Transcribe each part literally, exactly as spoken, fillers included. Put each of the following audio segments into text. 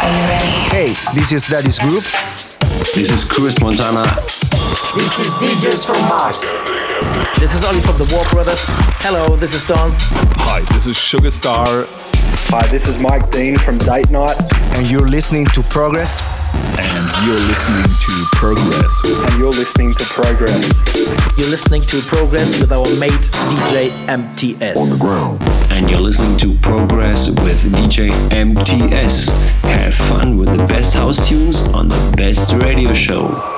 Hey, this is Daddy's Group. This is Chris Montana. This is D Js from Mars. This is Ollie from the War Brothers. Hello, this is Dance. Hi, this is Sugar Star. Hi, this is Mike Dean from Date Night. And you're listening to Progress. And you're listening to Progress. And you're listening to Progress. You're listening to Progress with our mate D J M T S. On the ground. And you're listening to Progress with D J M T S. Have fun with the best house tunes on the best radio show.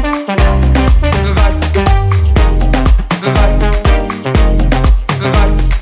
Right.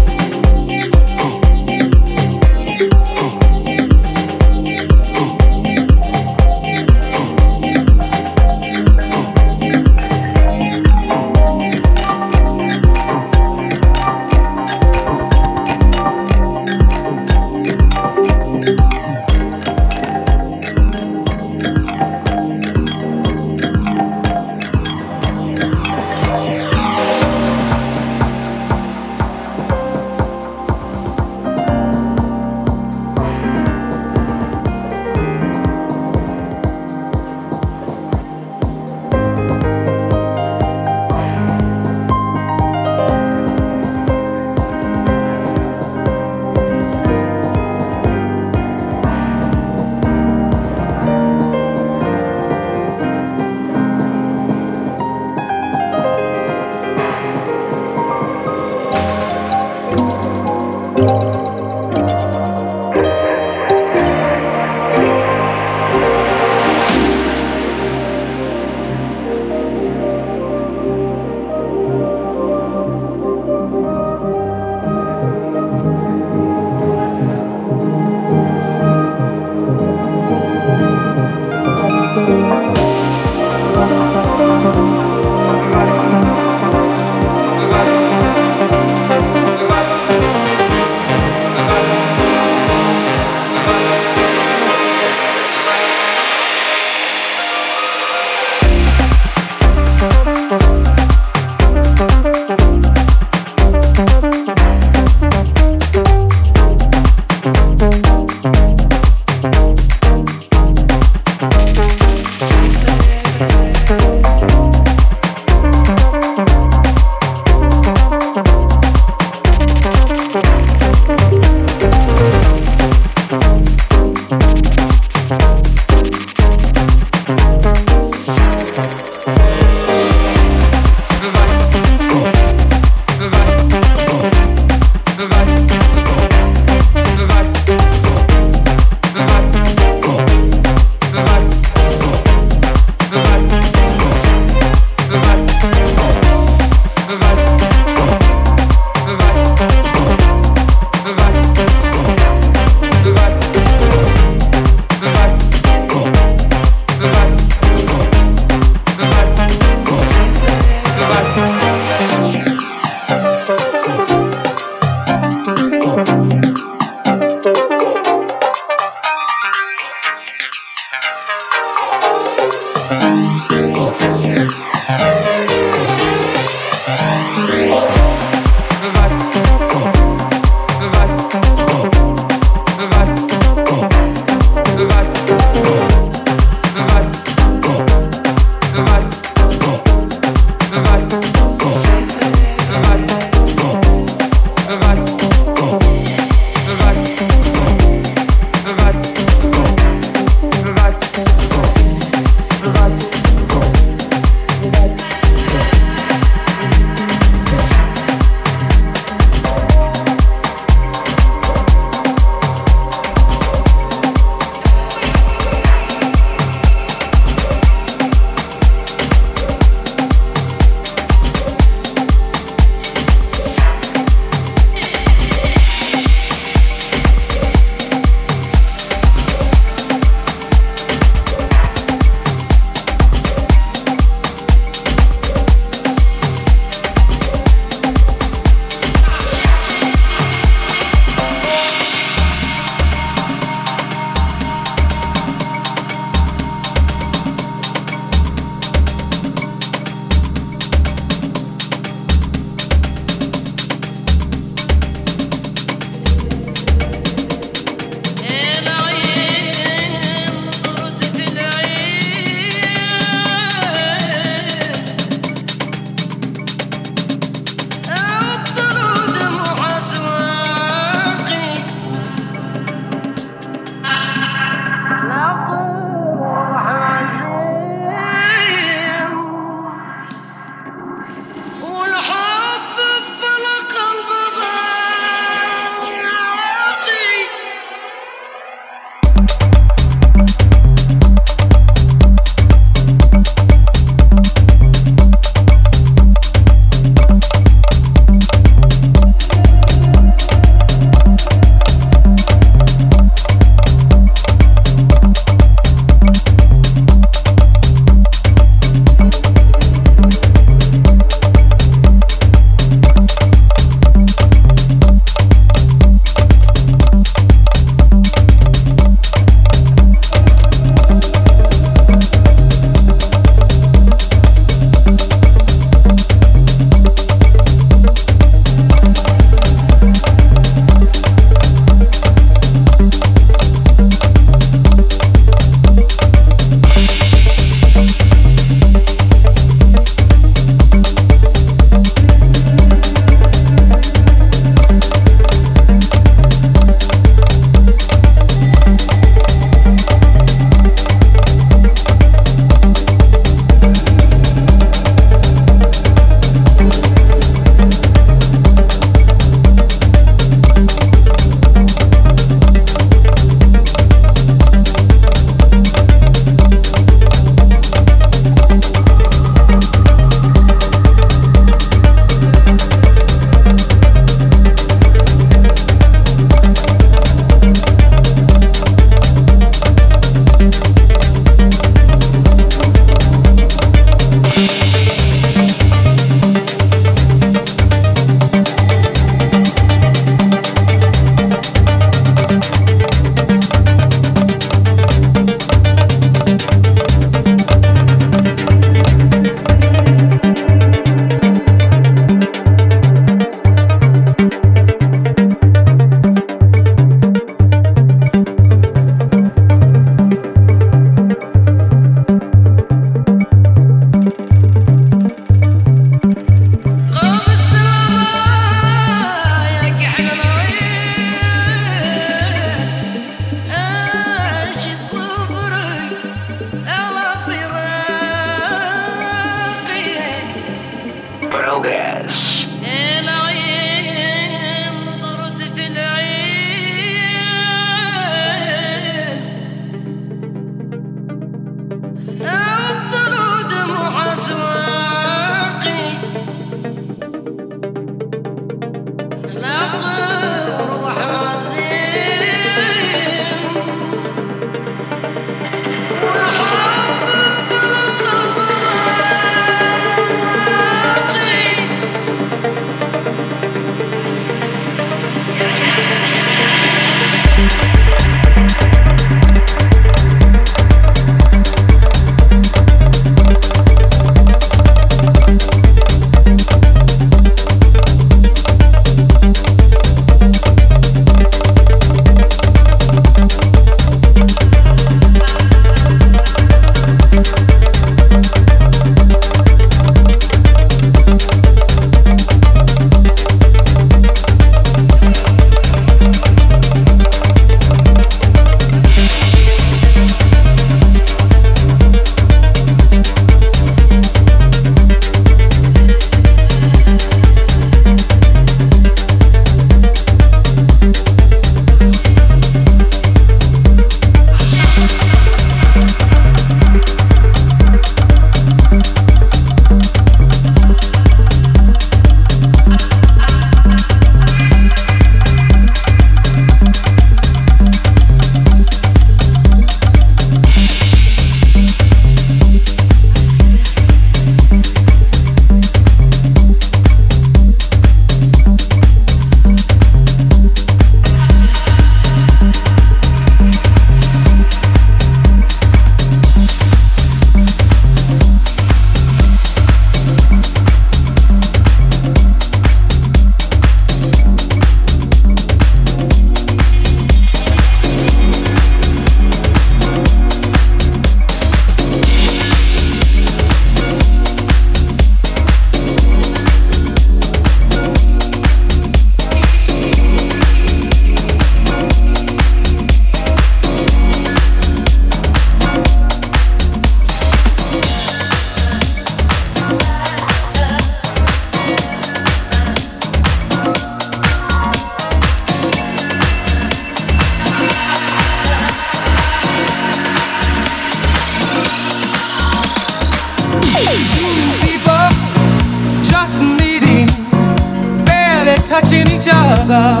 touching each other.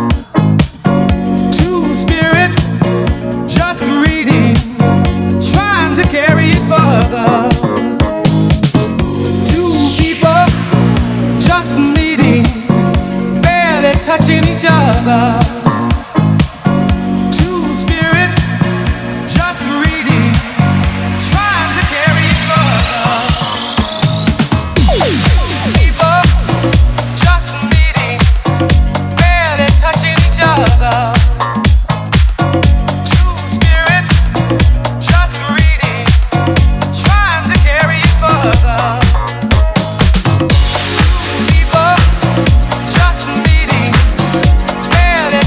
Two spirits just greeting, trying to carry it further. Two people just meeting, barely touching each other. Two spirits just greeting, trying to carry it further. People just meeting, barely touching each other. Two spirits just greeting, trying to carry it further. People just meeting, barely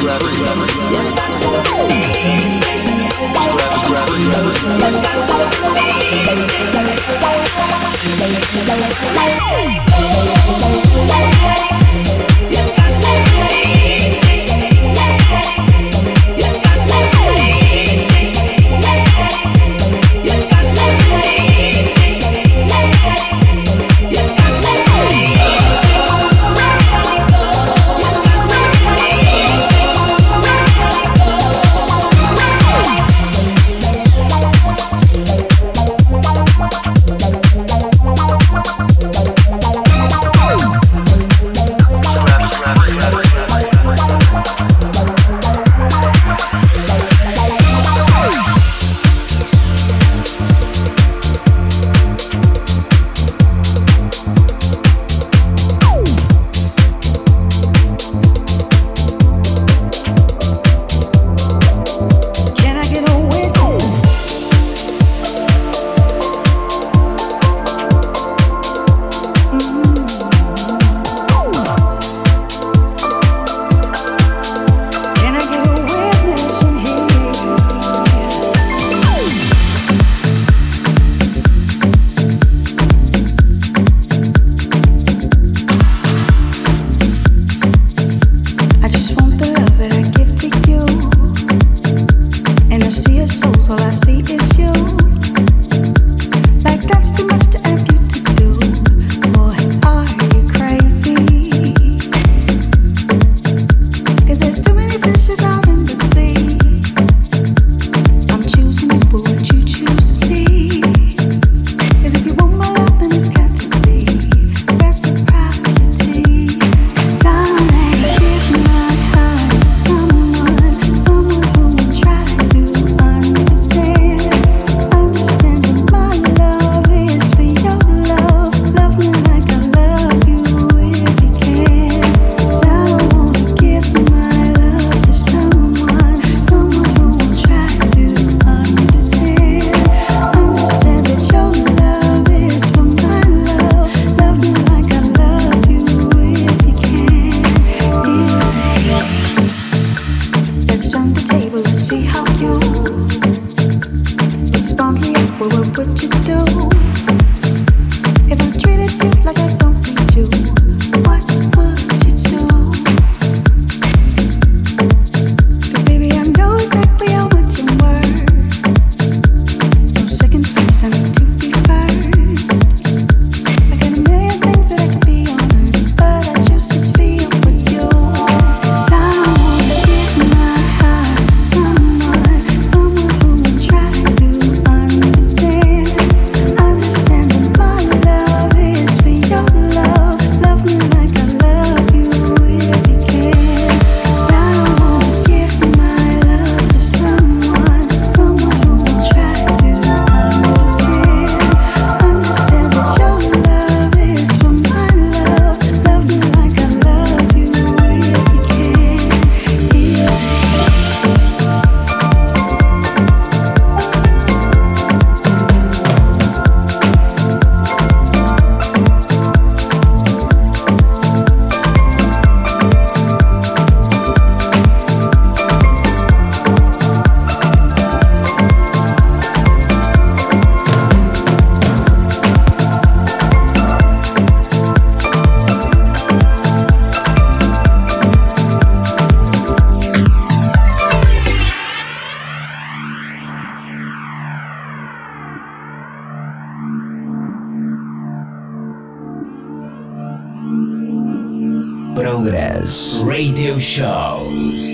Progress Radio Show.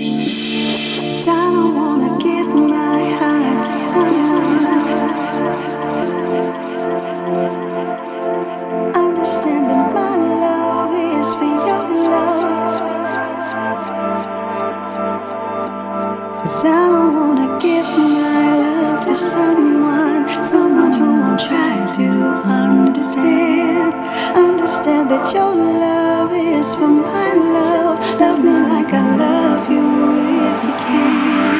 So I don't wanna give my heart to someone, understanding my love is for your love. 'Cause I don't wanna give my love to someone, someone who won't try to understand, understand that your love is for my love. Love me like I love you if you can.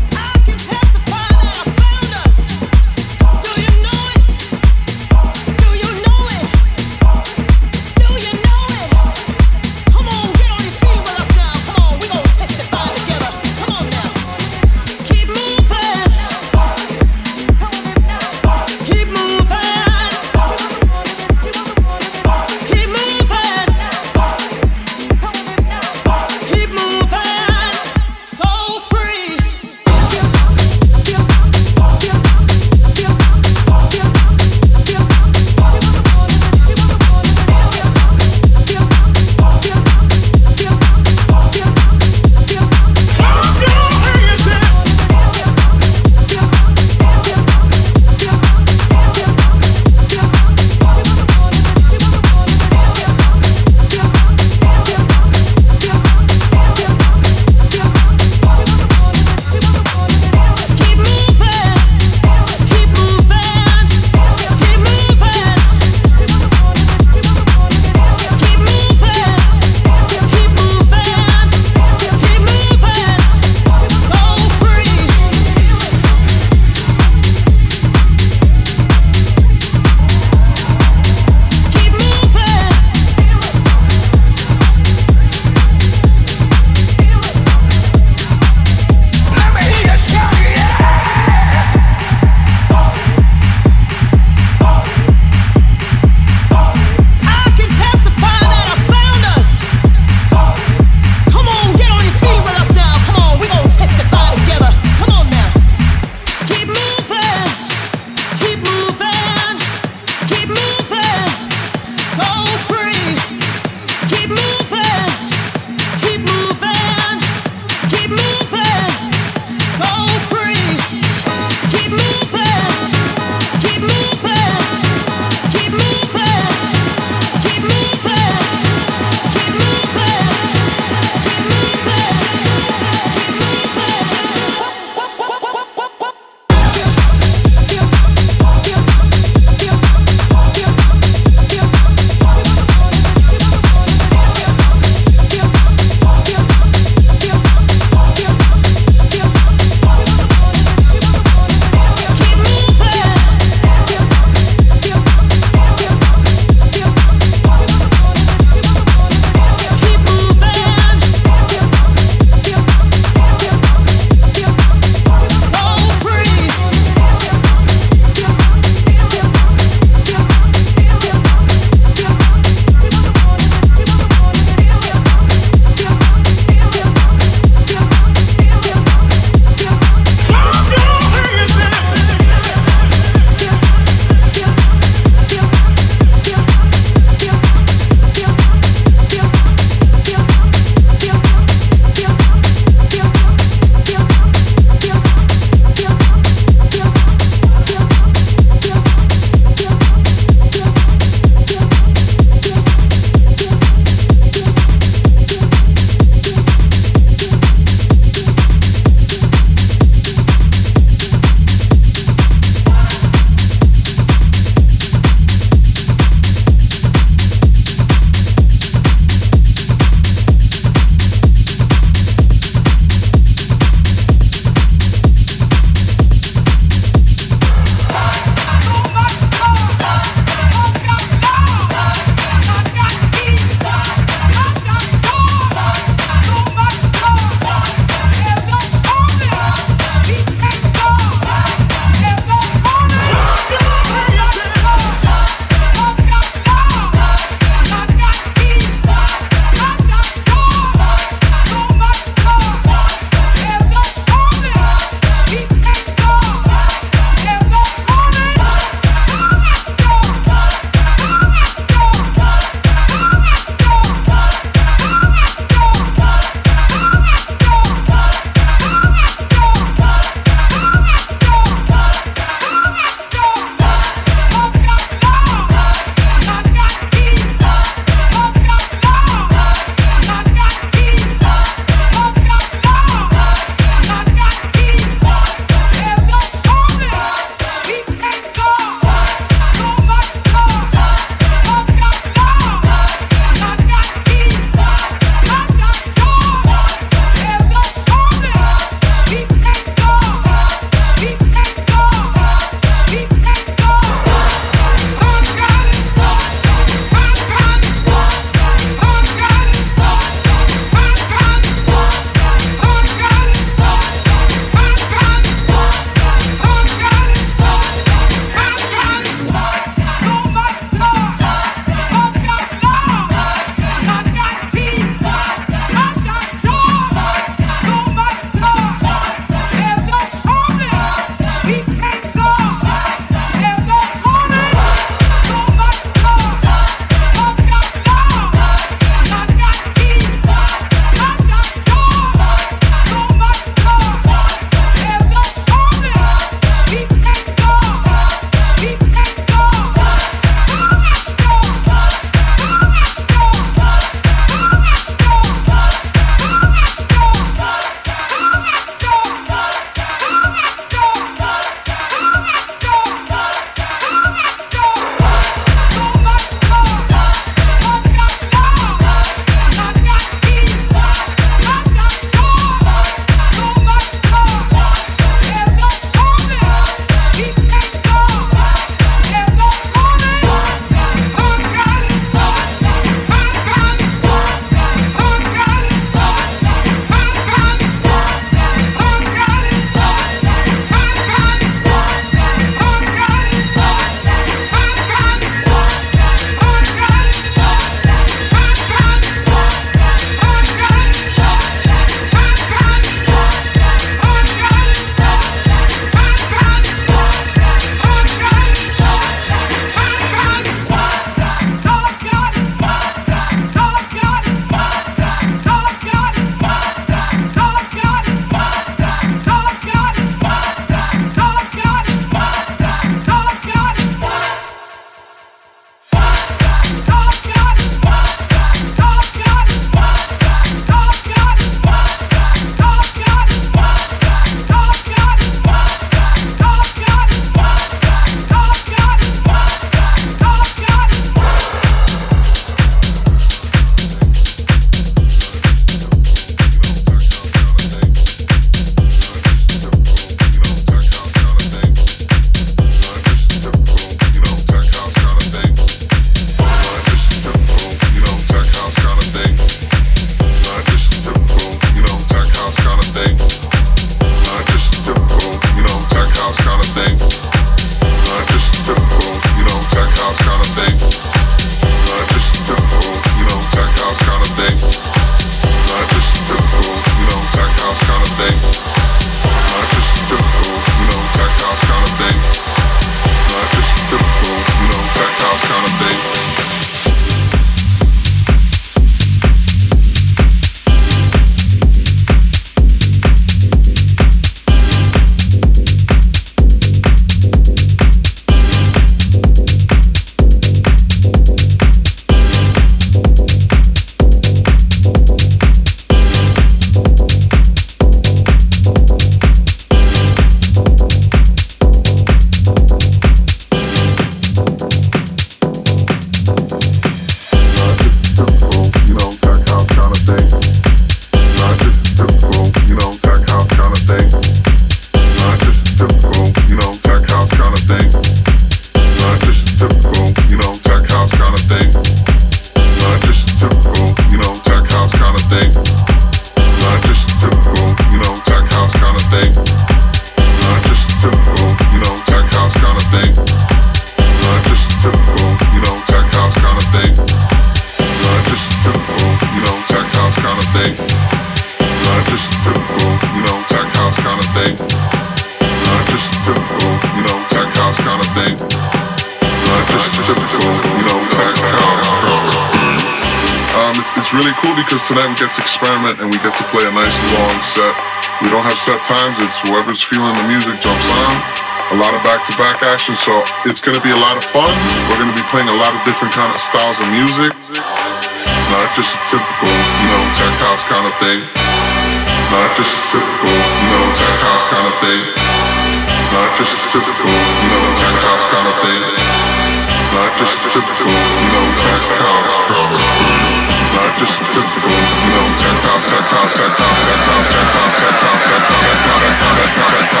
really cool because tonight we get to experiment and we get to play a nice long set. We don't have set times, it's whoever's feeling the music jumps on. A lot of back-to-back action, so it's gonna be a lot of fun. We're gonna be playing a lot of different kind of styles of music. Not just a typical, you know, tech house kind of thing. Not just a typical, you know, tech house kind of thing. Not just a typical, you know, tech house kind of thing. Not just a typical, you know, tech house kind of thing. Not just a typical, you know, tech house, tech house, tech house, tech house, tech house, tech house, tech house, tech house, tech house, tech house, tech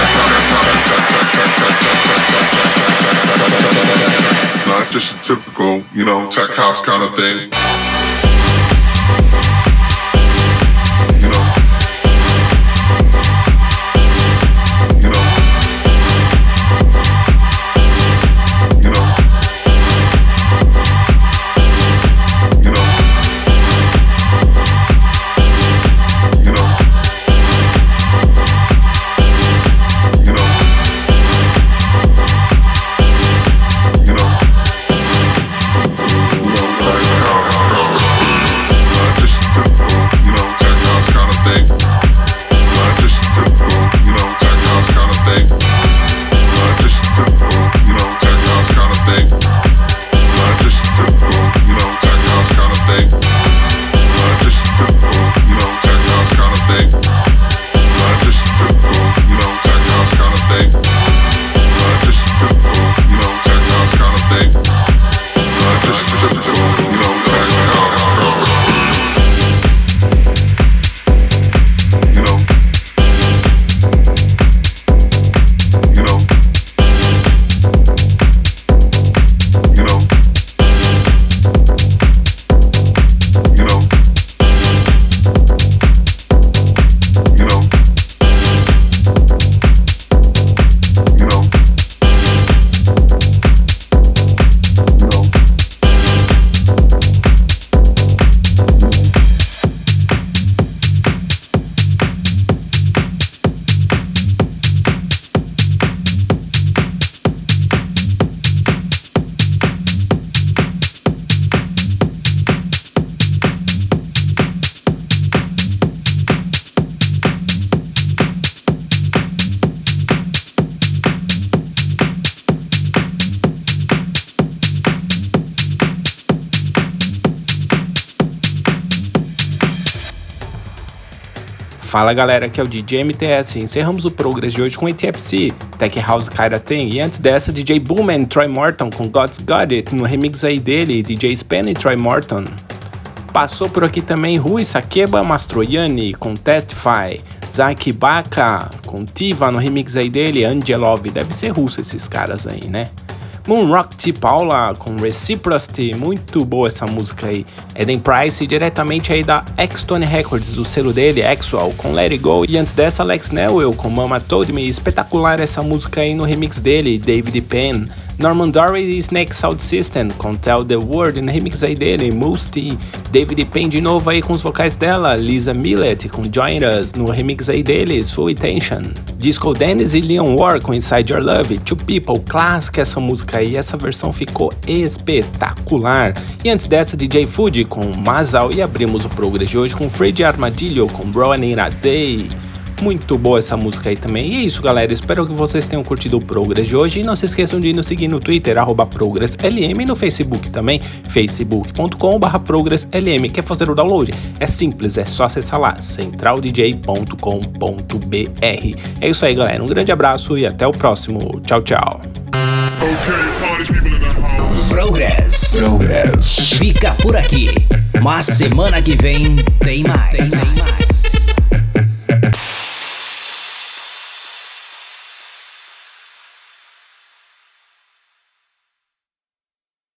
house. Not just a typical, you know, tech house kind of thing. Fala galera, aqui é o D J M T S. Encerramos o Progress de hoje com A T F C, Tech House Kinda Thing, e antes dessa D J Booman e Troy Morton com God's Got It, no remix aí dele, D J Span e Troy Morton. Passou por aqui também Rui Sakeba Mastroianni com Testify, Zaki Baka com Tiva no remix aí dele, Angelov, deve ser russo esses caras aí, né? Moonrock T. Paula com Reciprocity, muito boa essa música aí. Eden Price diretamente aí da X-Tone Records, do selo dele, Axwell, com Let It Go. E antes dessa, Alex Newell com Mama Told Me, espetacular essa música aí no remix dele, David Penn. Norman Dory e Snake Sound System com Tell the World, no remix aí dele, Moosty. David Penn de novo aí com os vocais dela, Lisa Millett com Join Us, no remix aí deles, Full Attention. Disco Dennis e Leon War com Inside Your Love, Two People, clássica essa música aí, essa versão ficou espetacular. E antes dessa, D J Fuji com Masal, e abrimos o Progress de hoje com Freddy Armadillo com Browning a Day. Muito boa essa música aí também. E é isso, galera, espero que vocês tenham curtido o Progress de hoje, e não se esqueçam de nos seguir no Twitter, arroba ProgressLM, e no Facebook também, facebook ponto com barra ProgressLM. Quer fazer o download? É simples, é só acessar lá, central d j ponto com ponto b r. É isso aí, galera, um grande abraço e até o próximo. Tchau, tchau. Progress. Progress. Fica por aqui, mas semana que vem tem mais. Tem mais.